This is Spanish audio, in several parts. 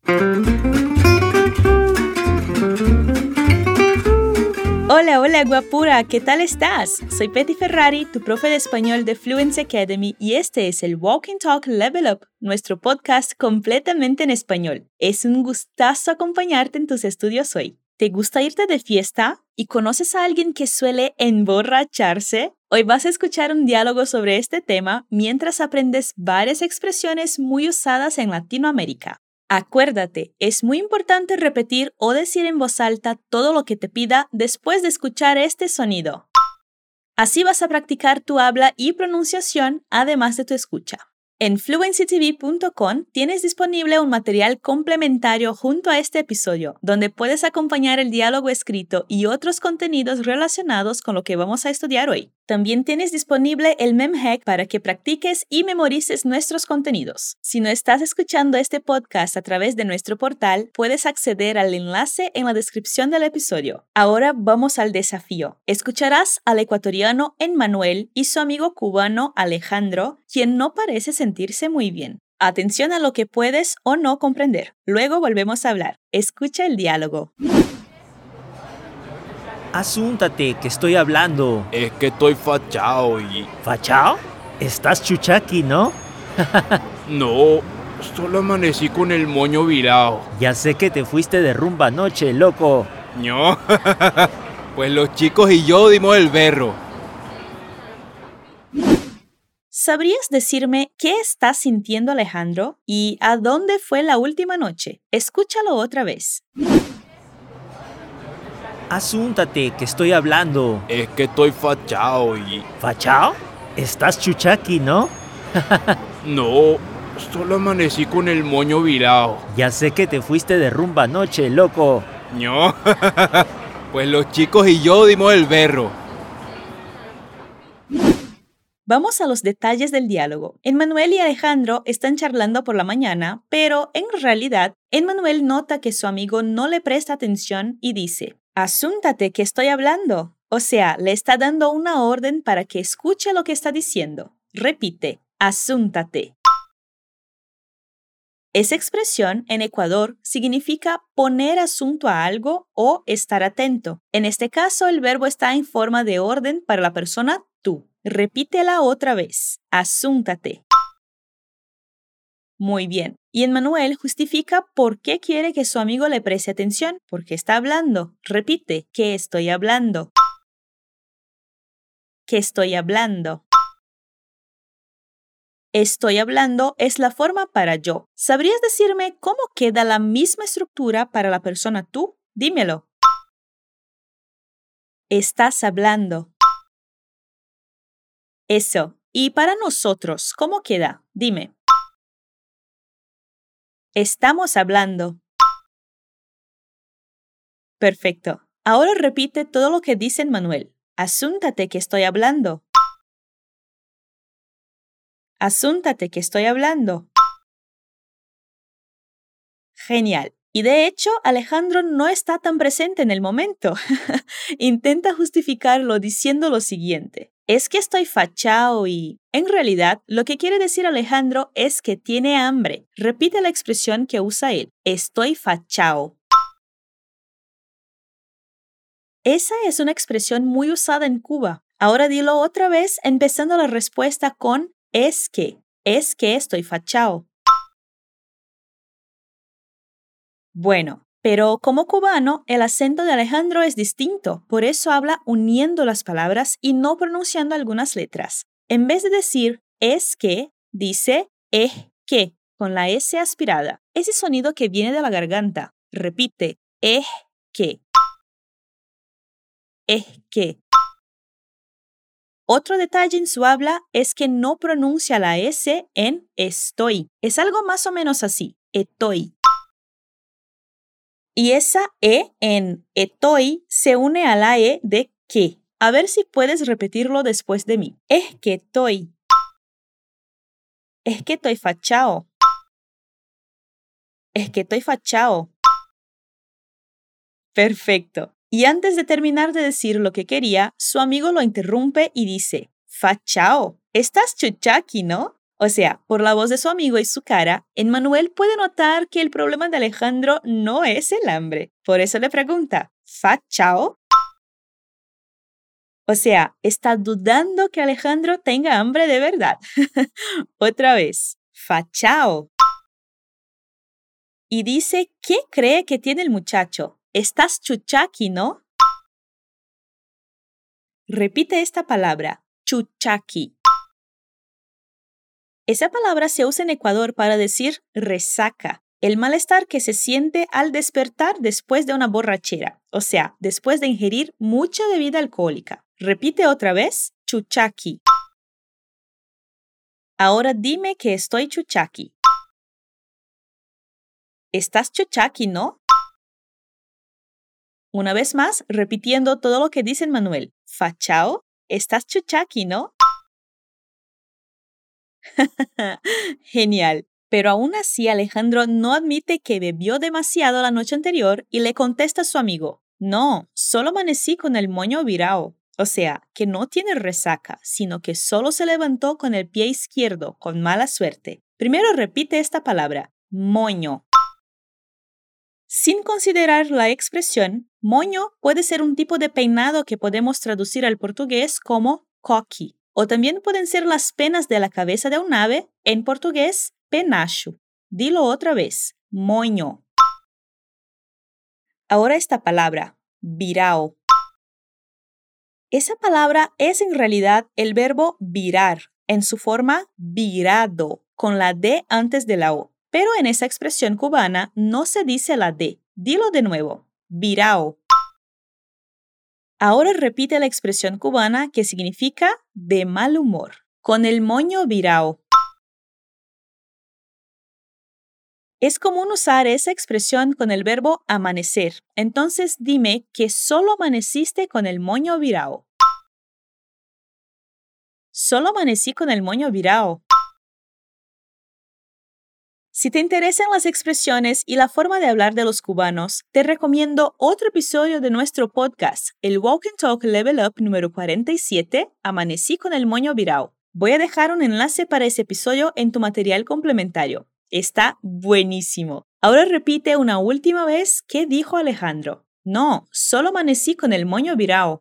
Hola, hola guapura, ¿qué tal estás? Soy Petty Ferrari, tu profe de español de Fluency Academy y este es el Walk and Talk Level Up, nuestro podcast completamente en español. Es un gustazo acompañarte en tus estudios hoy. ¿Te gusta irte de fiesta? ¿Y conoces a alguien que suele emborracharse? Hoy vas a escuchar un diálogo sobre este tema mientras aprendes varias expresiones muy usadas en Latinoamérica. Acuérdate, es muy importante repetir o decir en voz alta todo lo que te pida después de escuchar este sonido. Así vas a practicar tu habla y pronunciación además de tu escucha. En fluencytv.com tienes disponible un material complementario junto a este episodio, donde puedes acompañar el diálogo escrito y otros contenidos relacionados con lo que vamos a estudiar hoy. También tienes disponible el MemHack para que practiques y memorices nuestros contenidos. Si no estás escuchando este podcast a través de nuestro portal, puedes acceder al enlace en la descripción del episodio. Ahora vamos al desafío. Escucharás al ecuatoriano Emmanuel y su amigo cubano Alejandro, quien no parece sentirse muy bien. Atención a lo que puedes o no comprender. Luego volvemos a hablar. Escucha el diálogo. Asúntate, que estoy hablando. Es que estoy fachado y... ¿Fachao? Estás chuchaqui, ¿no? No, solo amanecí con el moño virado. Ya sé que te fuiste de rumba anoche, loco. No, pues los chicos y yo dimos el berro. ¿Sabrías decirme qué está sintiendo Alejandro y a dónde fue la última noche? Escúchalo otra vez. Asúntate, que estoy hablando. Es que estoy fachado y... ¿Fachao? Estás chuchaqui, ¿no? No, solo amanecí con el moño virado. Ya sé que te fuiste de rumba anoche, loco. No, pues los chicos y yo dimos el berro. Vamos a los detalles del diálogo. Emmanuel y Alejandro están charlando por la mañana, pero en realidad, Emmanuel nota que su amigo no le presta atención y dice: «Asúntate, que estoy hablando». O sea, le está dando una orden para que escuche lo que está diciendo. Repite: «Asúntate». Esa expresión en Ecuador significa poner asunto a algo o estar atento. En este caso, el verbo está en forma de orden para la persona tú. Repítela otra vez. Asúntate. Muy bien. Y Emmanuel justifica por qué quiere que su amigo le preste atención, porque está hablando. Repite: ¿qué estoy hablando? ¿Qué estoy hablando? Estoy hablando es la forma para yo. ¿Sabrías decirme cómo queda la misma estructura para la persona tú? Dímelo. Estás hablando. Eso. Y para nosotros, ¿cómo queda? Dime. Estamos hablando. Perfecto. Ahora repite todo lo que dice Emmanuel. Asúntate, que estoy hablando. Asúntate, que estoy hablando. Genial. Y de hecho, Alejandro no está tan presente en el momento. Intenta justificarlo diciendo lo siguiente: es que estoy fachao y... En realidad, lo que quiere decir Alejandro es que tiene hambre. Repite la expresión que usa él: estoy fachao. Esa es una expresión muy usada en Cuba. Ahora dilo otra vez, empezando la respuesta con es que estoy fachao. Bueno, pero como cubano, el acento de Alejandro es distinto, por eso habla uniendo las palabras y no pronunciando algunas letras. En vez de decir es que, dice es que, con la S aspirada. Ese sonido que viene de la garganta. Repite: es que. Es que. Otro detalle en su habla es que no pronuncia la S en estoy. Es algo más o menos así: estoy. Y esa E en estoy se une a la E de que. A ver si puedes repetirlo después de mí. Es que estoy. Es que estoy fachao. Es que estoy fachao. Perfecto. Y antes de terminar de decir lo que quería, su amigo lo interrumpe y dice: fachao, estás chuchaqui, ¿no? O sea, por la voz de su amigo y su cara, Emmanuel puede notar que el problema de Alejandro no es el hambre. Por eso le pregunta, ¿fa chao? O sea, está dudando que Alejandro tenga hambre de verdad. Otra vez, fa chao. Y dice, ¿qué cree que tiene el muchacho? Estás chuchaqui, ¿no? Repite esta palabra, chuchaqui. Esa palabra se usa en Ecuador para decir resaca, el malestar que se siente al despertar después de una borrachera, o sea, después de ingerir mucha bebida alcohólica. Repite otra vez, chuchaqui. Ahora dime que estoy chuchaqui. Estás chuchaqui, ¿no? Una vez más, repitiendo todo lo que dice Manuel. Fachao, estás chuchaqui, ¿no? Genial. Pero aún así Alejandro no admite que bebió demasiado la noche anterior y le contesta a su amigo, no, solo amanecí con el moño virao. O sea, que no tiene resaca, sino que solo se levantó con el pie izquierdo, con mala suerte. Primero repite esta palabra, moño. Sin considerar la expresión, moño puede ser un tipo de peinado que podemos traducir al portugués como coqui. O también pueden ser las penas de la cabeza de un ave, en portugués, penacho. Dilo otra vez, moño. Ahora esta palabra, virao. Esa palabra es en realidad el verbo virar, en su forma virado, con la D antes de la O. Pero en esa expresión cubana no se dice la D. Dilo de nuevo, virao. Ahora repite la expresión cubana que significa de mal humor, con el moño virao. Es común usar esa expresión con el verbo amanecer. Entonces dime que solo amaneciste con el moño virao. Solo amanecí con el moño virao. Si te interesan las expresiones y la forma de hablar de los cubanos, te recomiendo otro episodio de nuestro podcast, el Walk and Talk Level Up número 47, Amanecí con el moño virao. Voy a dejar un enlace para ese episodio en tu material complementario. Está buenísimo. Ahora repite una última vez qué dijo Alejandro. No, solo amanecí con el moño virao.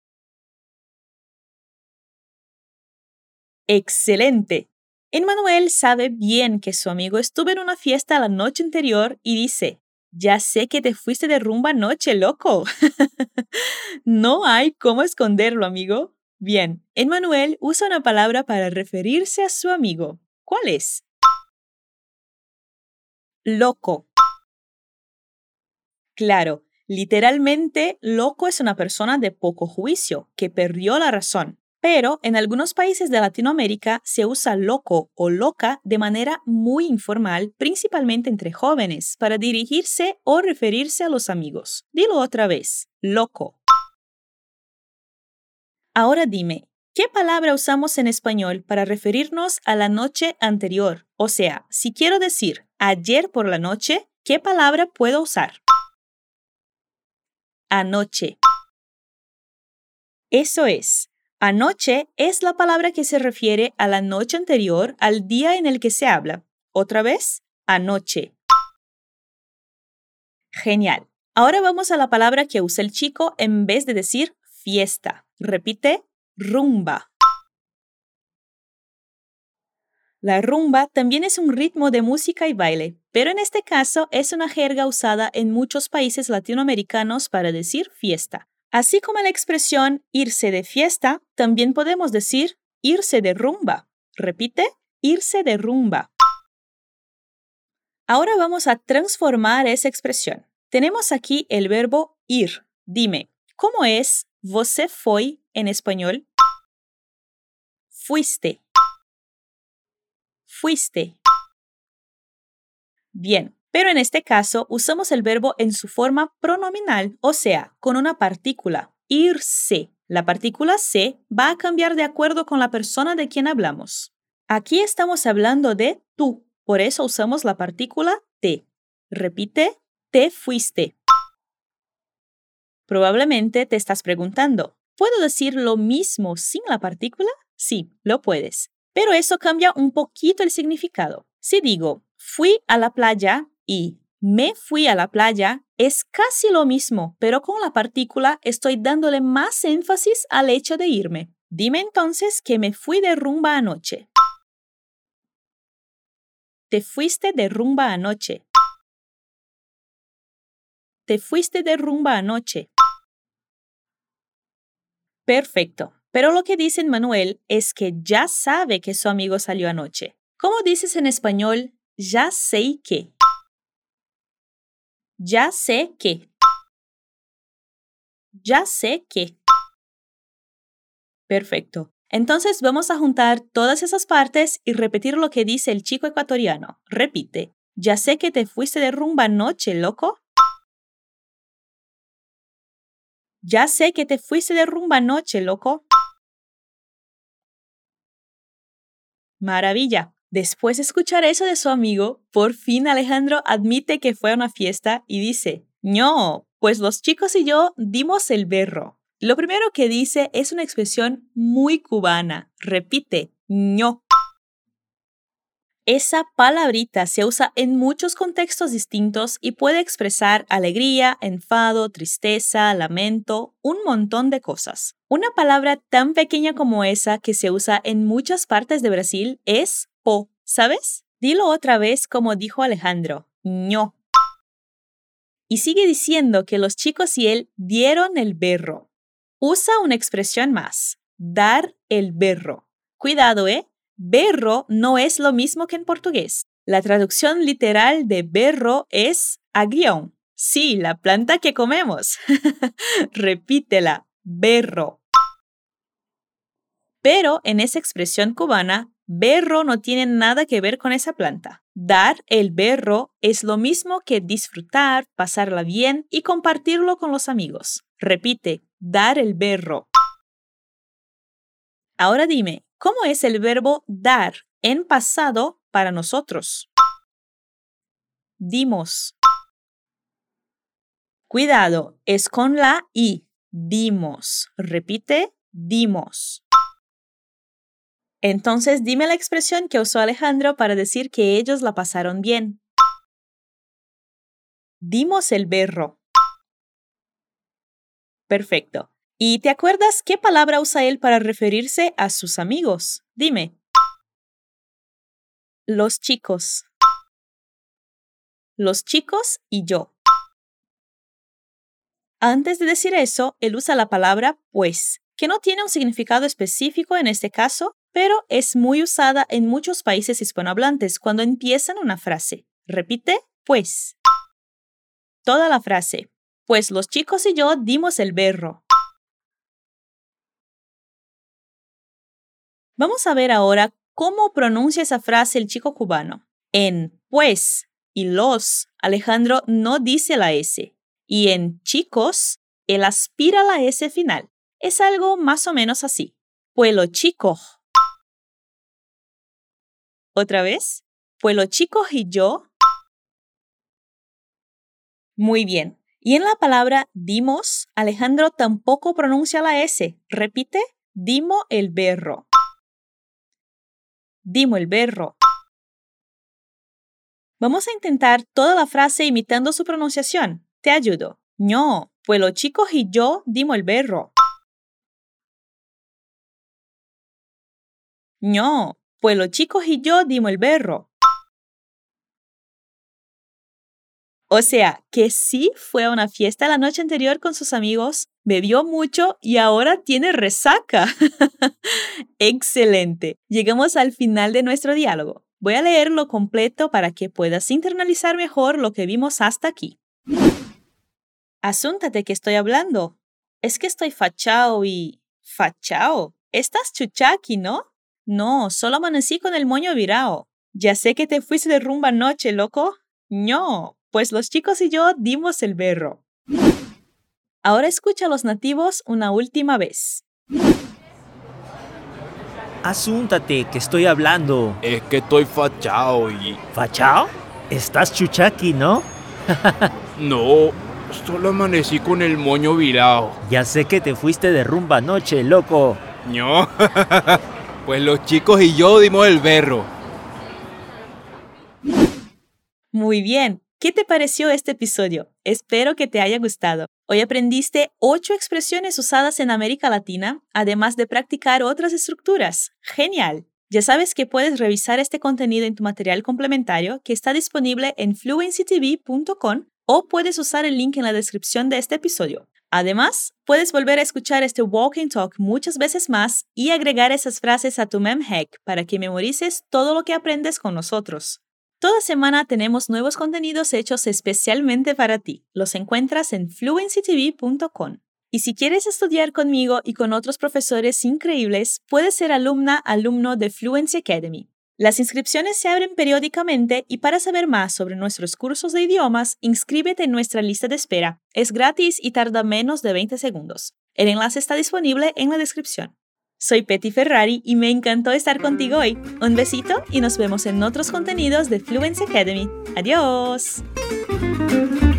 ¡Excelente! Emmanuel sabe bien que su amigo estuvo en una fiesta la noche anterior y dice, ya sé que te fuiste de rumba anoche, loco. No hay cómo esconderlo, amigo. Bien, Emmanuel usa una palabra para referirse a su amigo. ¿Cuál es? Loco. Claro, literalmente, loco es una persona de poco juicio, que perdió la razón. Pero en algunos países de Latinoamérica se usa loco o loca de manera muy informal, principalmente entre jóvenes, para dirigirse o referirse a los amigos. Dilo otra vez, loco. Ahora dime, ¿qué palabra usamos en español para referirnos a la noche anterior? O sea, si quiero decir ayer por la noche, ¿qué palabra puedo usar? Anoche. Eso es. Anoche es la palabra que se refiere a la noche anterior al día en el que se habla. Otra vez, anoche. Genial. Ahora vamos a la palabra que usa el chico en vez de decir fiesta. Repite, rumba. La rumba también es un ritmo de música y baile, pero en este caso es una jerga usada en muchos países latinoamericanos para decir fiesta. Así como la expresión irse de fiesta, también podemos decir irse de rumba. Repite, irse de rumba. Ahora vamos a transformar esa expresión. Tenemos aquí el verbo ir. Dime, ¿cómo es você foi en español? Fuiste. Fuiste. Bien, pero en este caso usamos el verbo en su forma pronominal, o sea, con una partícula, irse. La partícula se va a cambiar de acuerdo con la persona de quien hablamos. Aquí estamos hablando de tú, por eso usamos la partícula te. Repite, te fuiste. Probablemente te estás preguntando, ¿puedo decir lo mismo sin la partícula? Sí, lo puedes. Pero eso cambia un poquito el significado. Si digo, fui a la playa y me fui a la playa, es casi lo mismo, pero con la partícula estoy dándole más énfasis al hecho de irme. Dime entonces que me fui de rumba anoche. Te fuiste de rumba anoche. Te fuiste de rumba anoche. Perfecto. Pero lo que dice Manuel es que ya sabe que su amigo salió anoche. ¿Cómo dices en español? Ya sé que. Ya sé que. Ya sé que. Perfecto. Entonces vamos a juntar todas esas partes y repetir lo que dice el chico ecuatoriano. Repite. Ya sé que te fuiste de rumba anoche, loco. Ya sé que te fuiste de rumba anoche, loco. Maravilla. Después de escuchar eso de su amigo, por fin Alejandro admite que fue a una fiesta y dice, no, pues los chicos y yo dimos el berro. Lo primero que dice es una expresión muy cubana. Repite, ño. Esa palabrita se usa en muchos contextos distintos y puede expresar alegría, enfado, tristeza, lamento, un montón de cosas. Una palabra tan pequeña como esa que se usa en muchas partes de Brasil es po, ¿sabes? Dilo otra vez como dijo Alejandro, ño. Y sigue diciendo que los chicos y él dieron el berro. Usa una expresión más, dar el berro. Cuidado, ¿eh? Berro no es lo mismo que en portugués. La traducción literal de berro es agrión. Sí, la planta que comemos. Repítela, berro. Pero en esa expresión cubana, berro no tiene nada que ver con esa planta. Dar el berro es lo mismo que disfrutar, pasarla bien y compartirlo con los amigos. Repite, dar el berro. Ahora dime, ¿cómo es el verbo dar en pasado para nosotros? Dimos. Cuidado, es con la I. Dimos. Repite, dimos. Entonces dime la expresión que usó Alejandro para decir que ellos la pasaron bien. Dimos el berro. Perfecto. ¿Y te acuerdas qué palabra usa él para referirse a sus amigos? Dime. Los chicos. Los chicos y yo. Antes de decir eso, él usa la palabra pues, que no tiene un significado específico en este caso, pero es muy usada en muchos países hispanohablantes cuando empiezan una frase. Repite, pues. Toda la frase. Pues los chicos y yo dimos el berro. Vamos a ver ahora cómo pronuncia esa frase el chico cubano. En pues y los, Alejandro no dice la S. Y en chicos, él aspira la S final. Es algo más o menos así. Pues los chicos. ¿Otra vez? Pues los chicos y yo. Muy bien. Y en la palabra dimos, Alejandro tampoco pronuncia la S. Repite, dimo el berro. Dimo el berro. Vamos a intentar toda la frase imitando su pronunciación. Te ayudo. No, pues los chicos y yo dimos el berro. No, pues los chicos y yo dimos el berro. O sea, que sí fue a una fiesta la noche anterior con sus amigos, bebió mucho y ahora tiene resaca. ¡Excelente! Llegamos al final de nuestro diálogo. Voy a leerlo completo para que puedas internalizar mejor lo que vimos hasta aquí. Asúntate que estoy hablando. Es que estoy fachao y... ¿Fachao? ¿Estás chuchaqui, no? No, solo amanecí con el moño virao. Ya sé que te fuiste de rumba anoche, loco. No, pues los chicos y yo dimos el berro. Ahora escucha a los nativos una última vez. Asúntate que estoy hablando. Es que estoy fachao y... ¿Fachao? Estás chuchaqui, ¿no? No, solo amanecí con el moño virao. Ya sé que te fuiste de rumba anoche, loco. No. Pues los chicos y yo dimos el berro. Muy bien. ¿Qué te pareció este episodio? Espero que te haya gustado. Hoy aprendiste 8 expresiones usadas en América Latina, además de practicar otras estructuras. ¡Genial! Ya sabes que puedes revisar este contenido en tu material complementario que está disponible en fluencytv.com o puedes usar el link en la descripción de este episodio. Además, puedes volver a escuchar este Walk and Talk muchas veces más y agregar esas frases a tu memhack para que memorices todo lo que aprendes con nosotros. Toda semana tenemos nuevos contenidos hechos especialmente para ti. Los encuentras en fluencytv.com. Y si quieres estudiar conmigo y con otros profesores increíbles, puedes ser alumno de Fluency Academy. Las inscripciones se abren periódicamente y para saber más sobre nuestros cursos de idiomas, inscríbete en nuestra lista de espera. Es gratis y tarda menos de 20 segundos. El enlace está disponible en la descripción. Soy Petty Ferrari y me encantó estar contigo hoy. Un besito y nos vemos en otros contenidos de Fluency Academy. ¡Adiós!